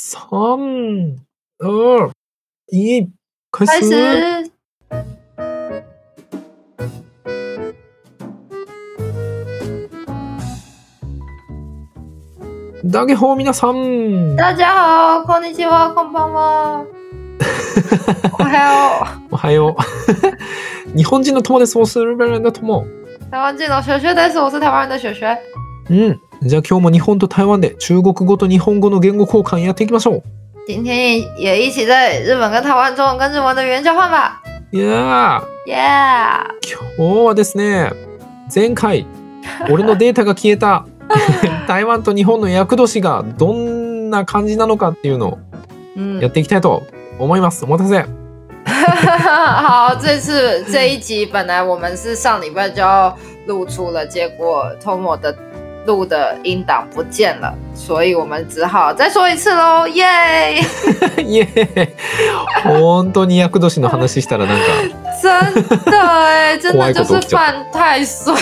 3、2、1、開开始。 始。 大家好、皆さん。 大家好，こんにちは、こんばんは。おはよおはよう。日本人の友です。我是日本人的友。 う。台湾人の雪雪です。我是台湾人的雪雪。 じゃあ今日も日本と台湾で中国語と日本語の言語交換やっていきましょう。 今天也一起在日本跟台湾中文跟日文的语言交换吧。 いや耶、yeah 今日はですね、前回俺のデータが消えた台湾と日本の厄年がどんな感じなのかっていうのをやっていきたいと思います。お待たせ。 好，这一集本来我们是上礼拜就要录出了，结果 Tomo 的录的音档不见了，所以我们只好再说一次喽，耶！ イエーイ。本当に厄年の話したらなんか真的哎，真的就是犯太岁。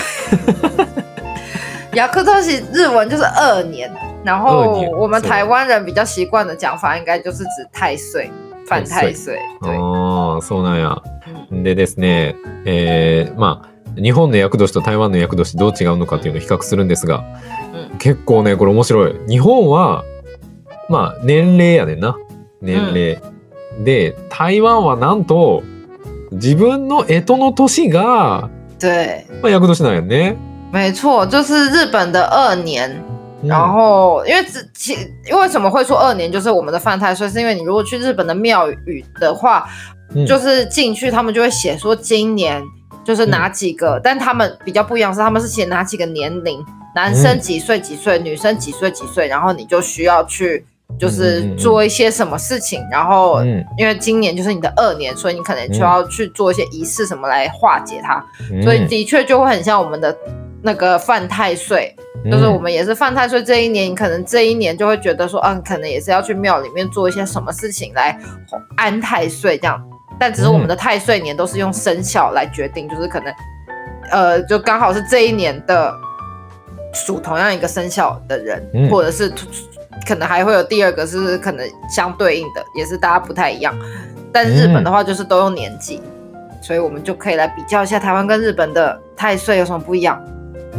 厄年日文就是2年，然後我们台湾人比较习惯的讲法应该就是指太岁，犯太岁。对。 そうなんや。でですね、まあ日本の厄年と台湾の厄年どう違うのかっていうのを比較するんですが、結構ねこれ面白い。日本はまあ年齢やねんな。年齢、で台湾はなんと自分の干支の年が对、 まあ、厄年なんやね。 没错，就是日本的2年。然后，因为什么会说2年就是我们的犯太岁，是因为你如果去日本的庙宇的话，就是进去他们就会写说今年就是哪几个，但他们比较不一样是他们是写哪几个年龄，男生几岁几岁，女生几岁几岁，然后你就需要去就是做一些什么事情，然后因为今年就是你的2年，所以你可能就要去做一些仪式什么来化解它，所以的确就会很像我们的那个犯太岁。就是我们也是犯太岁这一年，你可能这一年就会觉得说，可能也是要去庙里面做一些什么事情来安太岁这样。但只是我们的太岁年都是用生肖来决定，就是可能，就刚好是这一年的属同样一个生肖的人，或者是可能还会有第二个是可能相对应的，也是大家不太一样。但是日本的话就是都用年纪，所以我们就可以来比较一下台湾跟日本的太岁有什么不一样。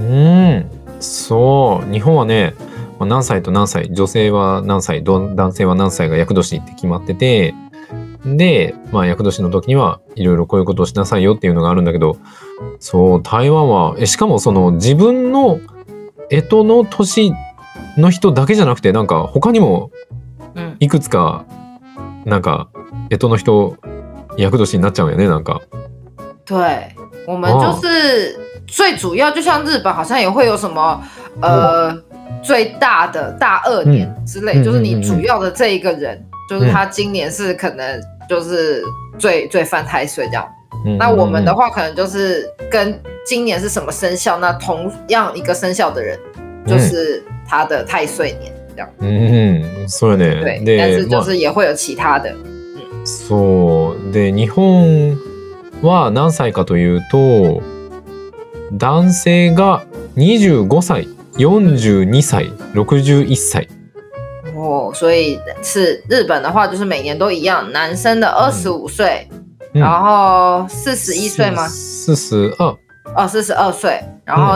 そう、日本はね、何歳と何歳、女性は何歳、男性は何歳が厄年って決まってて、で、まあ厄年の時にはいろいろこういうことをしなさいよっていうのがあるんだけど、そう台湾はしかもその自分の干支の年の人だけじゃなくて、なんか他にもいくつかなんか干支の人厄年になっちゃうよね、なんか。 对，我们就是最主要，就像日本好像也会有什么最大的大2年之类，就是你主要的这一个人，就是他今年是可能就是最犯太岁这样。那我们的话可能就是跟今年是什么生肖，那同样一个生肖的人就是他的太岁年这样。 そうね。 对，但是就是也会有其他的。 そうで、日本は何歳かというと、男性が25歳、42歳、61歳。 所以是日本的话就是每年都一样，男生的25岁，然后41岁吗 ？42。 42岁，然后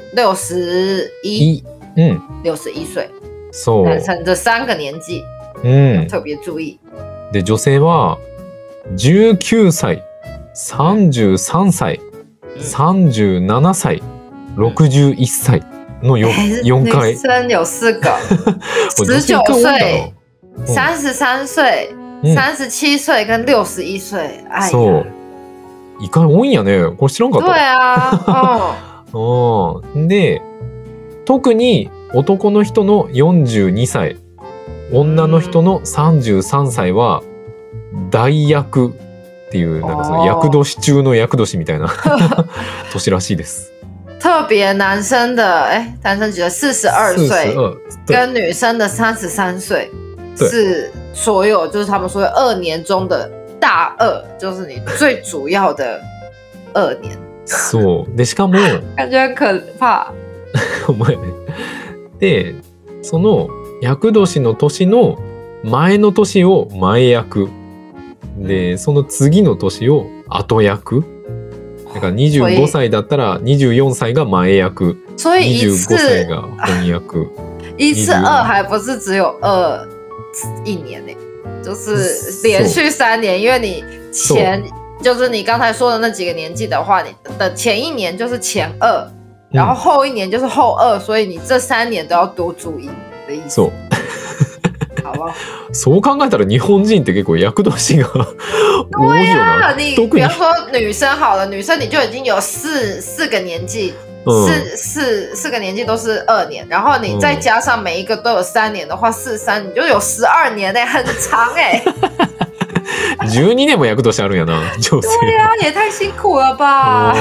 61，61岁。 そう。 男生这3个年纪，特别注意。 で、女性は19歳、33歳、37歳、61歳の 4回。 女生有4个，19岁、33岁、37岁跟61岁。 そう。意外多いんやね。これ知らんかった。 对啊。 で、特に男の人の42歳、女の人の33歳は大厄っていう、なんかその厄年中の厄年みたいな年らしいです。 特别男生的男生几岁？42岁，跟女生的33岁是所有，就是他们说2年中的大2，就是你最主要的2年。 そうで、しかも感觉很可怕。 お前ね。で、その厄年の年の前の年を前役で、その次の年を後役。だから25歳だったら24歳が前役， 所以一次 25歳が翻役。 一次二还不是只有一年呢，就是连续3年，因为你前就是你刚才说的那几个年纪的话，你的前一年就是前2，然后后一年就是后2，所以你这3年都要多注意的意思。 そう。 好不好？ そう考えたら日本人って結構厄年が多いよな。 你特に比方说女生好了，女生你就已经有四个年纪，四个年纪都是2年，然后你再加上每一个都有3年的话，4×3你就有12年呢，很长哎。 12年も厄年あるんやな、女性。 对呀，也太辛苦了吧。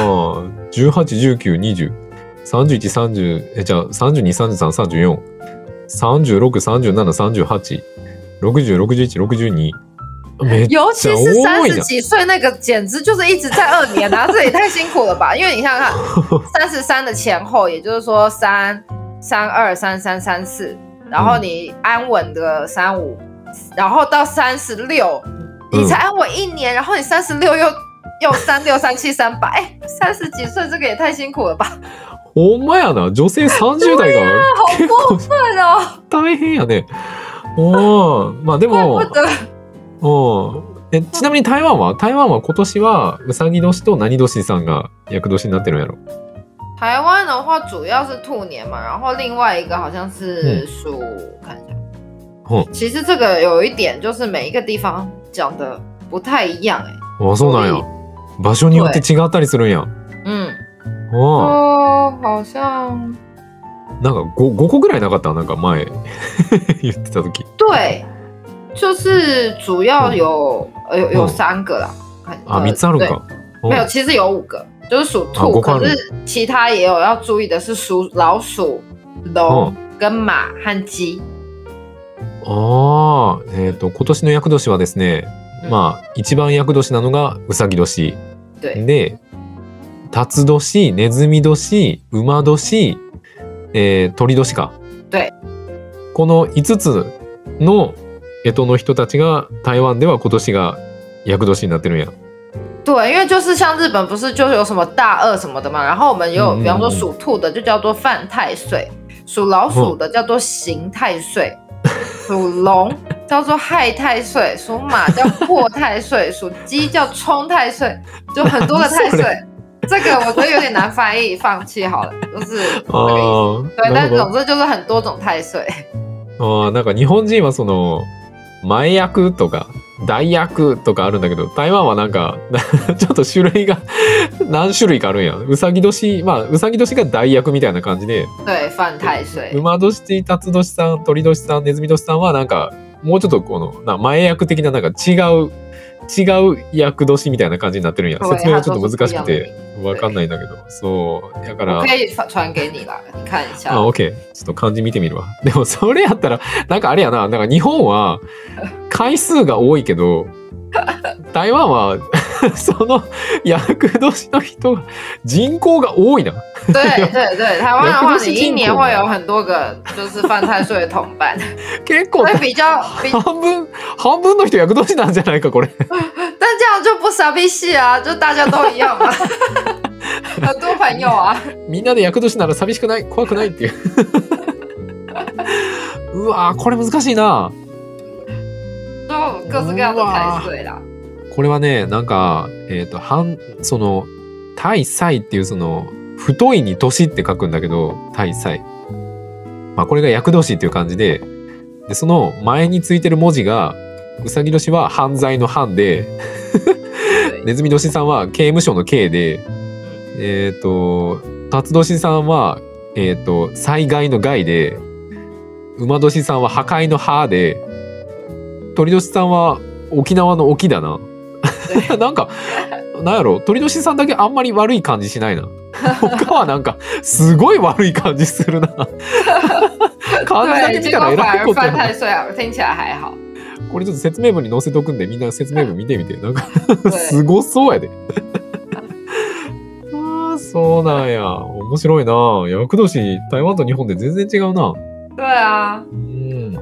18、19、20、31、30、じゃあ32、33、34、36、37、38、60、61、62。めっちゃ尤其是多い 30 な。 几岁那个，简直就是一直在2年啊，这也太辛苦了吧？因为你想想看，33的前后，也就是说3、32、33、34，然后你安稳的35，然后到36，你才安稳1年，然后你36又36、37、38，哎，30几岁这个也太辛苦了吧？ ほんまやな、女性30代が好結構过分哦！ 大変やね。まあで怪も不得。 ちなみに台湾は今年はうさぎ年と何年さんが厄年になってるんやろ。 台湾的话主要是兔年嘛，然后另外一个好像是属，看一下。其实这个有一点就是每一个地方讲的不太一样哎。 あ、そうなんや。場所によって違ったりするんや。 好像なんか 5個ぐらいなかった？なんか前言ってた時。 对，就是主要有3个啦。 あ、3つあるんか。 没有，其实有5个，就是属兔，可是其他也有要注意的是属老鼠、龙跟马和鸡。 今年の厄年はですね、まあ一番厄年なのがうさぎ年で、辰年、ネズミ年、馬年、鳥年か。 对。 この5つの干支の人たちが台湾では今年が厄年になってるんや。 对，因为就是像日本不是就有什么大2什么的嘛，然后我们也有，比方说属兔的就叫做犯太岁，属老鼠的叫做刑太岁，属龙叫做害太岁，属马叫破太岁，属鸡叫冲太岁，就很多个太岁。这个我觉得有点难翻译，放弃好了，就是这个意思。对，但总之就是很多种太岁。 なんか日本人はその前役とか大役とかあるんだけど、台湾はなんかちょっと種類が何種類かあるんや。うさぎ年、まあうさぎ年が大役みたいな感じで、 对、犯太岁。 馬年、辰年さん、鳥年さん、ネズミ年さんはなんかもうちょっとこの前役的ななんか違う役年みたいな感じになってるんや。説明はちょっと難しくてわかんないんだけど、そうだから。 我可以传给你啦，你看一下。 あ、OK。ちょっと漢字見てみるわ。でもそれやったらなんかあれやな、なんか日本は回数が多いけど、台湾はその厄年の人が人口が多いな。 对对对，台湾的话，你一年会有很多个就是犯太岁的同伴， 結構比较半分の人厄年なんじゃないかこれ。 但这样就不傻逼戏啊，就大家都一样嘛，很多朋友啊。 みんなで厄年なら寂しくない、怖くないっていう。うわー、これ難しいな。 就各式各样的太岁啦。 これはね、なんかその大歳っていうその太いに年って書くんだけど、大歳。まあこれが厄年っていう感じで、その前についてる文字がうさぎ年は犯罪の犯で、ネズミ年さんは刑務所の刑で、辰年さんは災害の害で、馬年さんは破壊の破で、鳥年さんは沖縄の沖だな。なんかなんやろ、鳥年さんだけあんまり悪い感じしないな。他はなんかすごい悪い感じするな。漢字だけ見たらえらいことやな。 听起来还好。 これちょっと説明文に載せとくんで、みんな説明文見てみて。なんかすごそうやで。ああ、そうなんや。面白いな。厄年台湾と日本で全然違うな。 对啊。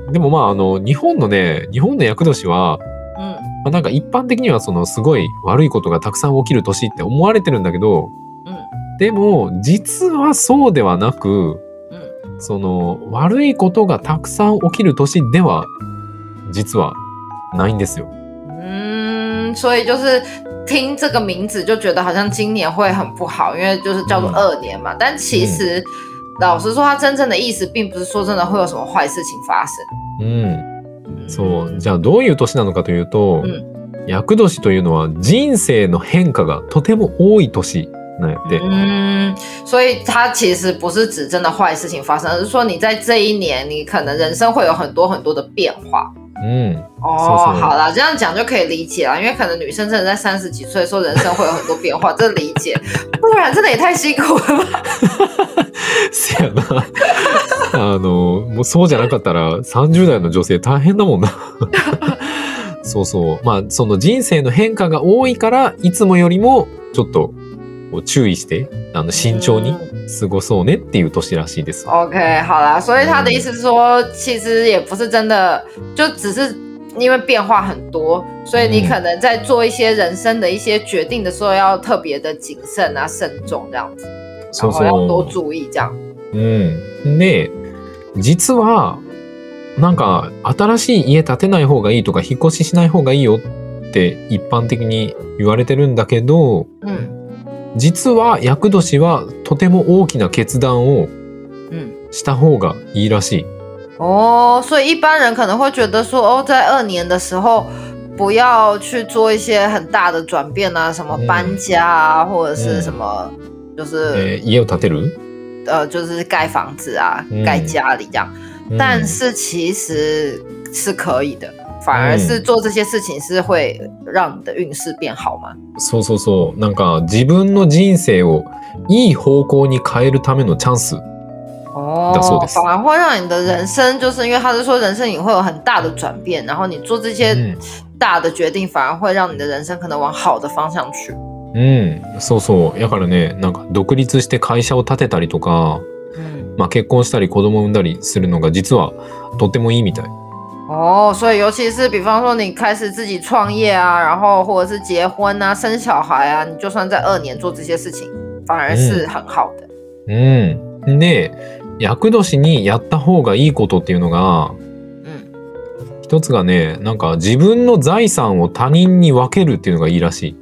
でもまあ日本の厄年は、まあ、なんか一般的にはそのすごい悪いことがたくさん起きる年って思われてるんだけど、でも実はそうではなく、その悪いことがたくさん起きる年では実はないんですよ。 所以就是听这个名字就觉得好像今年会很不好，因为就是叫做2年嘛。但其实老实说，它真正的意思并不是说真的会有什么坏事情发生。 そう。じゃあどういう年なのかというと、厄年というのは人生の変化がとても多い年なんやって。 所以它其实不是指真的坏事情发生，而是说你在这一年，你可能人生会有很多很多的变化。好啦，这样讲就可以理解啦，因为可能女生真的在30几岁的时候，人生会有很多变化，这理解。不然真的也太辛苦了吧。 せやな。もうそうじゃなかったら30代の女性大変だもんな。そうそう。まあその人生の変化が多いからいつもよりもちょっと注意して慎重に過ごそうねっていう年らしいです。 OK， 好啦，所以他的意思是说，其实也不是真的，就只是因为变化很多，所以你可能在做一些人生的一些决定的时候，要特别的谨慎啊、慎重这样子，然后要多注意这样。 で、実はなんか新しい家建てない方がいいとか引っ越ししない方がいいよって一般的に言われてるんだけど、実は厄年はとても大きな決断をした方がいいらしい。 所以一般人可能会觉得说，在2年的时候不要去做一些很大的转变啊，什么搬家啊，或者是什么，就是家を建てる， 就是盖房子啊，盖家里这样。但是其实是可以的。反而是做这些事情是会让你的运势变好吗？ そうそうそう。なんか自分の人生をいい方向に変えるためのチャンスだそうです。 反而会让你的人生，就是因为他是说人生也会有很大的转变，然后你做这些大的決定，反而会让你的人生可能往好的方向去。 そうそう。だからね、なんか独立して会社を立てたりとか、まあ結婚したり子供を産んだりするのが実はとってもいいみたい。 所以尤其是比方说你开始自己创业啊，然后或者是結婚啊、生小孩啊，你就算在2年做这些事情，反而是很好的。 で、厄年にやった方がいいことっていうのが、一つがね、なんか自分の財産を他人に分けるっていうのがいいらしい。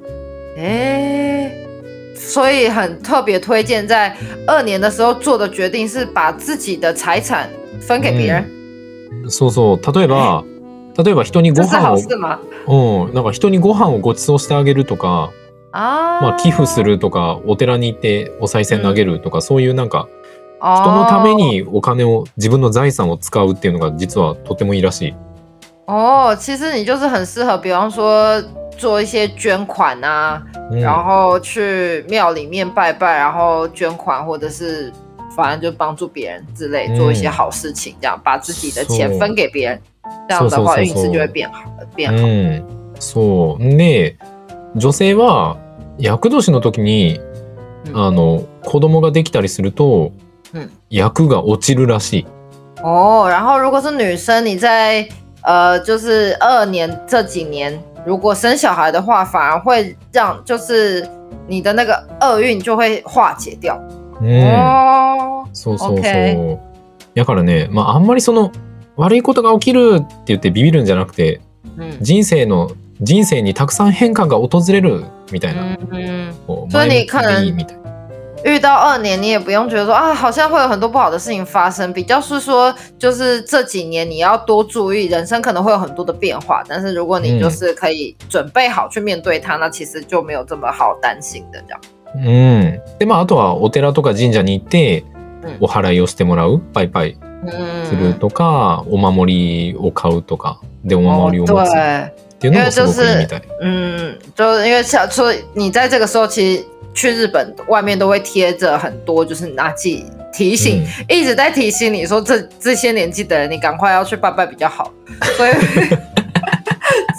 所以很特别推荐在2年的时候做的决定是把自己的財產分給別人。 そうそう。例えば人にご飯を、なんか人にご飯をご馳走してあげるとか、まあ寄付するとか、お寺に行ってお賽銭投げるとか、そういうなんか人のためにお金を、自分の財産を使うっていうのが実はとてもいいらしい。 其实你就是很适合，比方说做一些捐款啊，然后去庙里面拜拜，然后捐款，或者是反正就帮助别人之类，做一些好事情，这样把自己的钱分给别人，这样的话运势就会变好。 そうで、女性は厄年の時に子供ができたりすると厄が落ちるらしい。 然后如果是女生，你在就是2年这几年，如果生小孩的话，反而会让就是你的那个厄运就会化解掉。そうそうそう。 だからね、まああんまりその悪いことが起きるって言ってビビるんじゃなくて、人生にたくさん変化が訪れるみたいな。 所以你可能遇到2年，你也不用觉得说好像会有很多不好的事情发生，比较是说就是这几年你要多注意，人生可能会有很多的变化，但是如果你就是可以準備好去面对它，那其实就没有这么好担心的这样。 でまああとはお寺とか神社に行ってお祓いをしてもらう、バイバイするとか、お守りを買うとかでお守りを持つっていうのもすごくいいみたい。 就因为说你在这个时候其实去日本外面都会贴着很多就是拿记提醒，一直在提醒你说这些年纪的人你赶快要去拜拜比较好。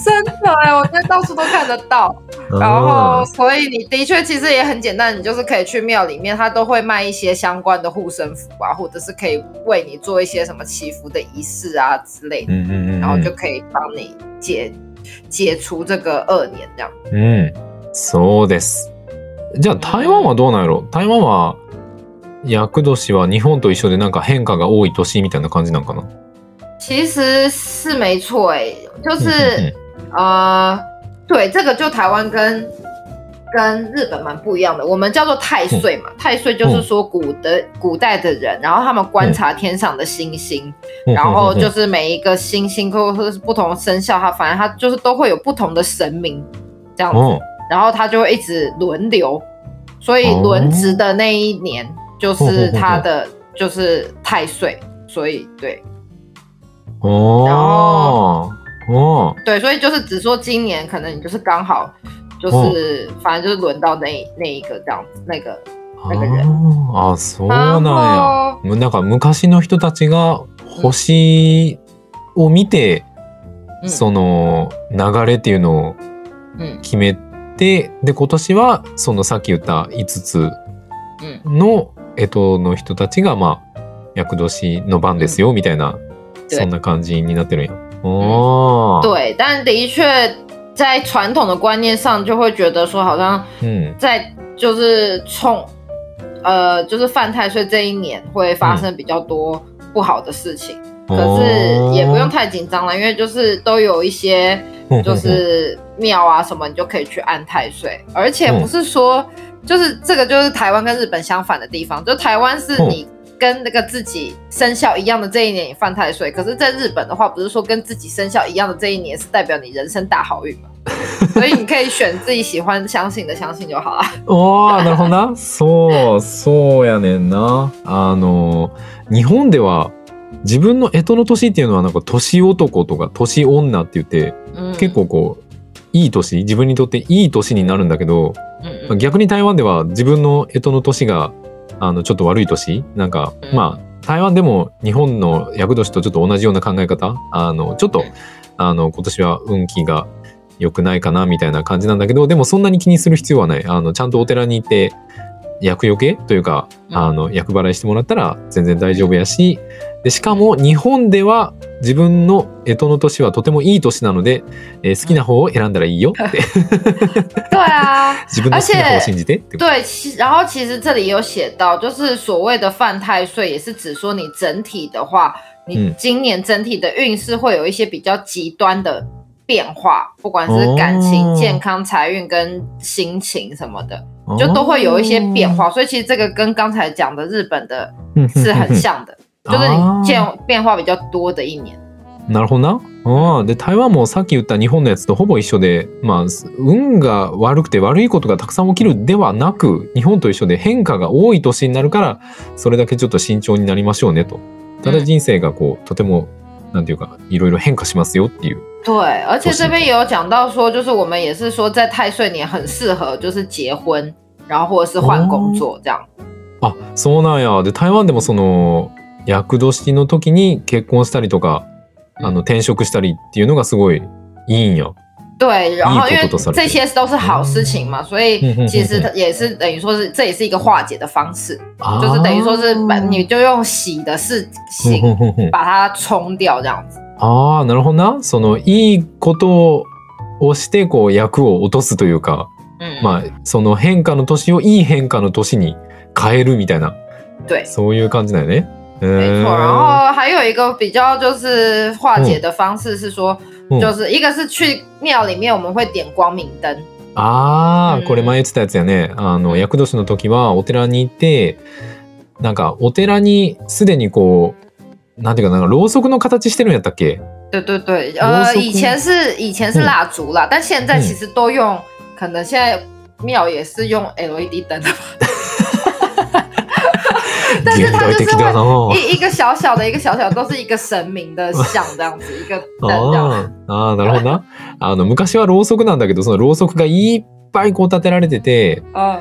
真的哎，我觉得到处都看得到。然后，所以你的确其实也很简单，你就是可以去庙里面，他都会卖一些相关的护身符啊，或者是可以为你做一些什么祈福的仪式啊之类的，然后就可以帮你解除这个恶年这样。 そうです。じゃあ台湾はどうなんやろ？台湾は厄年は日本と一緒でなんか変化が多い年みたいな感じなんかな？ 其实是没错就是对，这个就台湾跟日本蛮不一样的。我们叫做太岁嘛，太岁就是说古代的人，然后他们观察天上的星星，然后就是每一个星星或者是不同的生肖，反正它就是都会有不同的神明这样子，然后它就会一直轮流，所以轮值的那一年就是它的就是太岁，所以对，然后。对，所以就是只说今年可能你就是刚好就是反正就是轮到那一个这样子那个人。 そうなんや。なんか昔の人たちが星を見て、その流れっていうのを決めて、で今年はそのさっき言った5つの干支の人たちがまあ厄年の番ですよみたいな、そんな感じになってるんや。 对，但的确在传统的观念上就会觉得说好像在就是就是犯太岁这一年会发生比较多不好的事情，可是也不用太紧张了，因为就是都有一些就是庙啊什么你就可以去安太岁，而且不是说就是这个就是台湾跟日本相反的地方，就台湾是你跟那个自己生肖一样的这一年也犯太岁，可是在日本的话不是说跟自己生肖一样的这一年是代表你人生大好运嘛，所以你可以选自己喜欢相信的相信就好了。 なるほどな。そうやねんな。日本では自分の干支の年っていうのはなんか年男とか年女って言って、結構こういい年、自分にとっていい年になるんだけど、逆に台湾では自分の干支の年がちょっと悪い年なんか、まあ台湾でも日本の厄年とちょっと同じような考え方、ちょっと今年は運気が良くないかなみたいな感じなんだけど、でもそんなに気にする必要はない。ちゃんとお寺に行って厄除けというか厄払いしてもらったら全然大丈夫やし、でしかも日本では自分の干支の年はとてもいい年なので、好きな方を選んだらいいよって。 对啊， 自分の好きな方を信じて。 对，然后其实这里有写到，就是所谓的犯太岁，也是指说你整体的话，你今年整体的运势会有一些比较极端的变化，不管是感情、健康、财运跟心情什么的，就都会有一些变化。所以其实这个跟刚才讲的日本的是很像的。就是你变化比较多的一年。 なるほどな。で台湾もさっき言った日本のやつとほぼ一緒で、まあ運が悪くて悪いことがたくさん起きるではなく、日本と一緒で変化が多い年になるからそれだけちょっと慎重になりましょうねと。ただ人生がこうとてもなんていうかいろいろ変化しますよっていう。 对，而且这边也有讲到说，就是我们也是说在太岁年很适合就是结婚，然后或者是換工作这样。 そうなんや。で台湾でもその厄年の時に結婚したりとか転職したりっていうのがすごいいいんや。 对，然后因为这些都是好事情嘛，所以其实也是等于说是这也是一个化解的方式，就是等于说是你就用喜的事情把它冲掉这样子。 なるほどな。そのいいことをしてこう厄を落とすというか、まあその変化の年をいい変化の年に変えるみたいな、そういう感じだよね。 没错，然后还有一个比较就是化解的方式是说，就是一个是去庙里面我们会点光明灯。 これ前言ってたやつやね。厄年の時はお寺に行って、なんかお寺にすでにこうなんていうかなんかろうそくの形してるんやったっけ？ 对对对，以前是蜡烛啦，但现在其实都用，可能现在庙也是用 LED 灯的吧。但是它就是会一个小小的都是一个神明的像这样子，一个灯这样。 なるほどな。昔はろうそくなんだけど、そのろうそくがいっぱいこう立てられてて、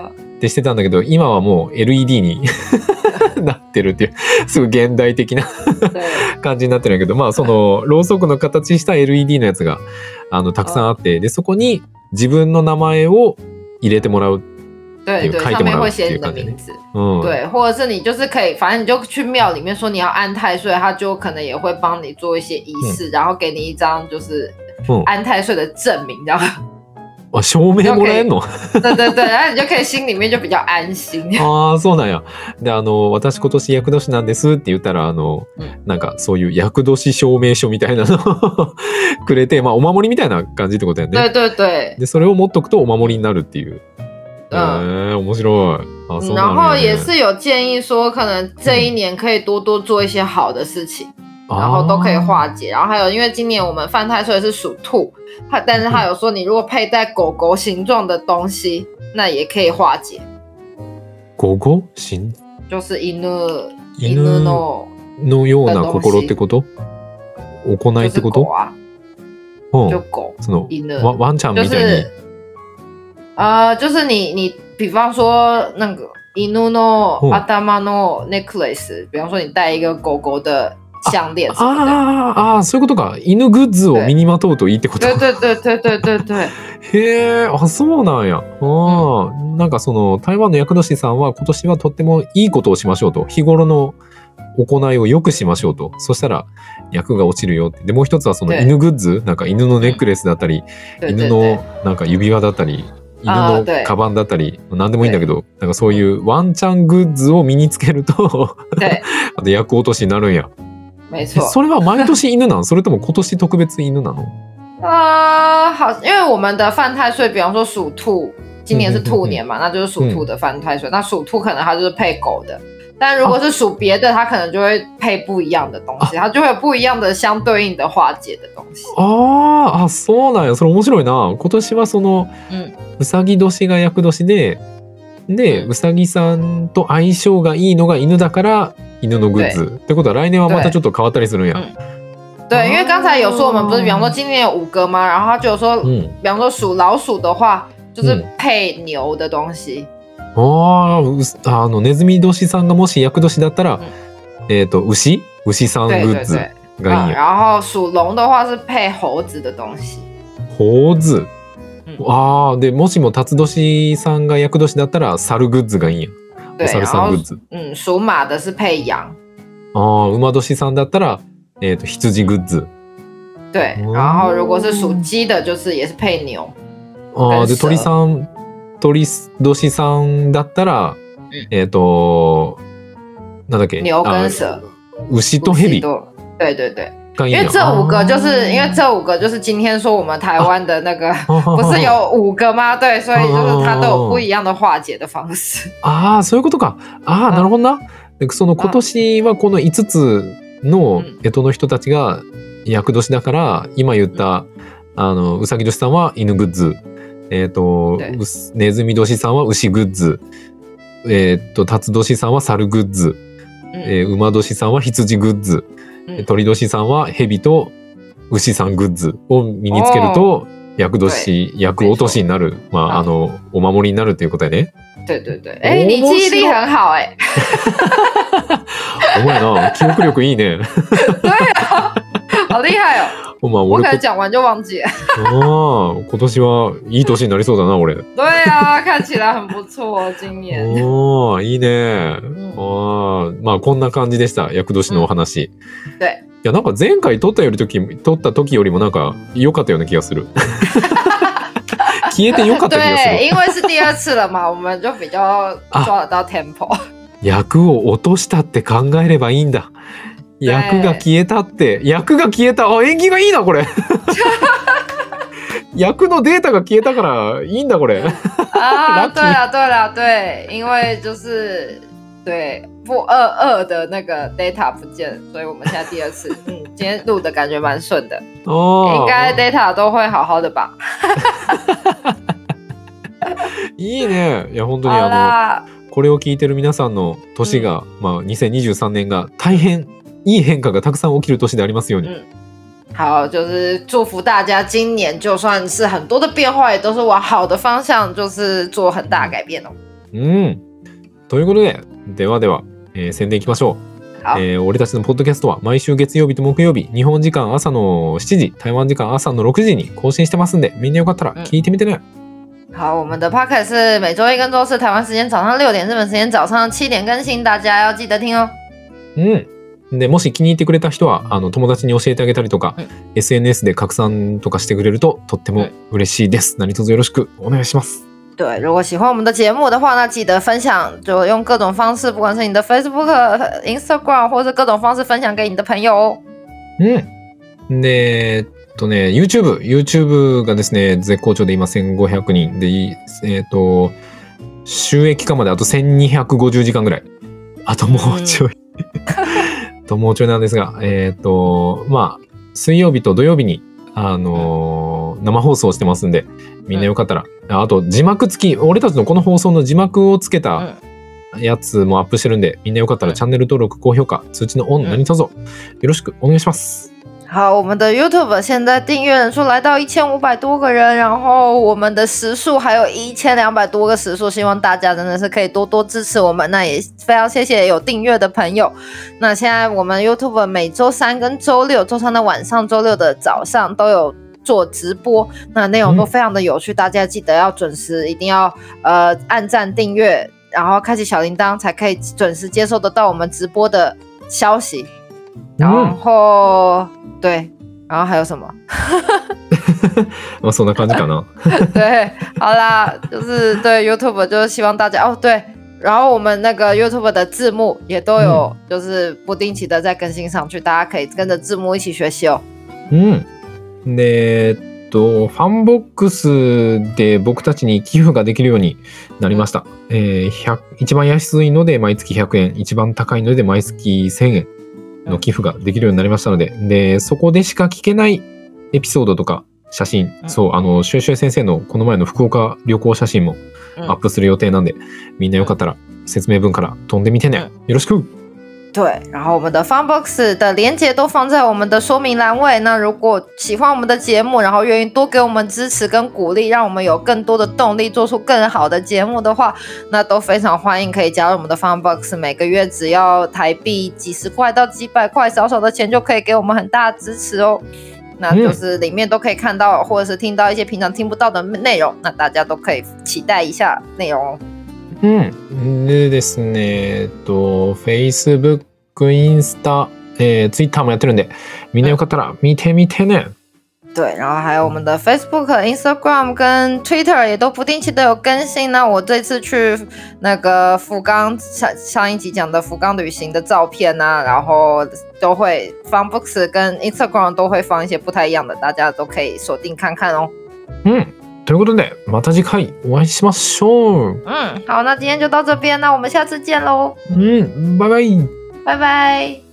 ってしてたんだけど、今はもう LED になってるっていうすごい現代的な感じになってるんだけど、まあそのろうそくの形した LED のやつがたくさんあって、でそこに自分の名前を入れてもらう。 对对，上面会写你的名字，对，或者是你就是可以，反正你就去庙里面说你要安太岁，他就可能也会帮你做一些仪式，然后给你一张就是安太岁的证明，这样。 あ、証明もらえんの？ 对对对，然后你就可以心里面就比较安心。 ああ、そうなんや。で、私今年厄年なんですって言ったら、なんかそういう厄年証明書みたいなのをくれて、まあお守りみたいな感じってことやね。 对对对。 で、それを持っとくとお守りになるっていう。面白い。 然后也是有建议说，可能这一年可以多多做一些好的事情，然后都可以化解。然后还有，因为今年我们犯太岁是属兔，但是他有说，你如果佩戴狗狗形状的东西，那也可以化解。 狗狗形？ 就是犬のような心ってこと？行いってこと？ 就狗。 そのワンちゃんみたいに。 就是你比方说那个犬の頭のnecklace，比方说你戴一个狗狗的项链什么的。 ああ、そういうことか。犬グッズを身にまとうといいってこと。 对对对对对对对。 へえ、あ、そうなんや。なんかその台湾の厄年さんは今年はとってもいいことをしましょうと。日頃の行いを良くしましょうと。そしたら厄が落ちるよって。でもう一つはその犬グッズ、なんか犬のネックレスだったり、犬のなんか指輪だったり。犬のカバンだったり何でもいいんだけど、なんかそういうワンちゃんグッズを身につけるとあと厄落としになるんや。それは毎年犬なの？それとも今年特別犬なの？ 好，因为我们的犯太岁，比方说属兔，今年是兔年嘛，那就是属兔的犯太岁。那属兔可能它就是配狗的，但如果是属别的，它可能就会配不一样的东西，它就会有不一样的相对应的化解的东西。 あ、そうなんや。それ面白いな。今年はその、うさぎ年が厄年で、うさぎさんと相性がいいのが犬だから犬のグッズってことは来年はまたちょっと変わったりするんや。 对，因为刚才有说我们不是比方说今年有5个吗？然后他就有说，比方说属老鼠的话，就是配牛的东西。ネズミ年さんがもし厄年だったら、牛さんグッズがいいんや。然后属龙的话是配猴子的东西。 猴子。でもしも辰年さんが厄年だったら猿グッズがいいんや。お猿さんグッズ。 属马的是配羊。 馬年さんだったら羊グッズ。 对，然后如果是属鸡的，就是也是配牛。 で鳥年さんだったら、なんだっけ？ 牛跟蛇。 牛と蛇。 对对对。因为这5个就是今天说我们台湾的那个不是有5个吗？对，所以就是它都有不一样的化解的方式。 そういうことか。なるほどな。その今年はこの5つの干支の人たちが厄年だから、今言ったうさぎ年さんは犬グッズ、ネズミ年さんは牛グッズ、辰年さんは猿グッズ、馬年さんは羊グッズ、鳥年さんは蛇と牛さんグッズを身につけると厄年厄落としになる、お守りになるっていうことやね。 对对对，你記憶力很好お前な、記憶力いいね。 对啊，好厉害哦。我可能讲完就忘记了。 今年はいい年になりそうだな、俺。 对啊，看起来很不错今年。 いいね。まあこんな感じでした、厄年のお話。 对。 いや、なんか前回撮った時よりもなんか良かったような気がする。消えて良かった気がする。 对，因为是第2次了嘛，我们就比较抓得到 tempo。 厄を落としたって考えればいいんだ。役が消えたって、役が消えた。縁起がいいなこれ。役のデータが消えたからいいんだこれ。 对了对了对，因为就是对2的那个 data 不见，所以我们现在第2次，今天录的感觉蛮顺的，应该 data 都会好好的吧。 いいね。いや本当にこれを聞いてる皆さんの年が、2023年が大変いい変化がたくさん起きる年でありますように。 好，就是祝福大家今年就算是很多的变化，也都是往好的方向，就是做很大的改变哦。 ということで、ではでは、宣伝いきましょう。俺たちのポッドキャストは毎週月曜日と木曜日、日本時間朝の7時、台湾時間朝の6時に更新してますんで、みんなよかったら聞いてみてね。 好，我们的 podcast 是每周一跟周四台湾时间早上6点，日本时间早上7点更新，大家要記得聽哦。 でもし気に入ってくれた人は友達に教えてあげたりとか、SNS で拡散とかしてくれるととっても嬉しいです。何卒よろしくお願いします。 对，如果喜欢我们的节目的话，那记得分享，就用各种方式，不管是你的 Facebook、Instagram 或者各种方式分享给你的朋友哦。 で、YouTube がですね、絶好調で今1500人で、収益化まであと1250時間ぐらい。あともうちょい。もうちょいなんですが、水曜日と土曜日に、生放送してますんで、みんなよかったら、あと字幕付き、俺たちのこの放送の字幕をつけたやつもアップしてるんで、みんなよかったらチャンネル登録、高評価、通知のオン、何卒よろしくお願いします。 好，我们的 YouTube 现在订阅人数来到1500多个人，然后我们的时数还有1200多个时数，希望大家真的是可以多多支持我们。那也非常谢谢有订阅的朋友。那现在我们 YouTube 每周3跟周6，周3的晚上，周6的早上都有做直播，那内容都非常的有趣，大家记得要准时，一定要按赞订阅，然后开启小铃铛，才可以准时接收得到我们直播的消息。然后对，然后还有什么？ そんな感じかな。 对，好啦，就是对 YouTube 就是希望大家对，然后我们那个 YouTube 的字幕也都有，就是不定期的在更新上去，大家可以跟着字幕一起学习哦。 で、ファンボックスで僕たちに寄付ができるようになりました。一番安いので毎月100円、一番高いので毎月1000円の寄付ができるようになりましたので、で、そこでしか聞けないエピソードとか写真、シュエシュエ先生のこの前の福岡旅行写真もアップする予定なんで、みんなよかったら説明文から飛んでみてね。よろしく。 对，然后我们的 Funbox 的连结都放在我们的说明栏位。那如果喜欢我们的节目，然后愿意多给我们支持跟鼓励，让我们有更多的动力做出更好的节目的话，那都非常欢迎可以加入我们的 Funbox。每个月只要台币几十块到几百块，少少的钱就可以给我们很大的支持哦。那就是里面都可以看到或者是听到一些平常听不到的内容，那大家都可以期待一下内容哦。 でですね、Facebook、インスタ、Twitter もやってるんで、みんなよかったら見てみてね。 对，然后还有我们的 Facebook、Instagram 跟 Twitter 也都不定期的有更新。那我这次去那个福冈上一集讲的福冈旅行的照片啊，然后都会 Funbox 跟 Instagram 都会放一些不太一样的，大家都可以锁定看看哦。 ということで、また次回お会いしましょう。 好，那今天就到这边，那我们下次见喽。 拜拜。 拜拜。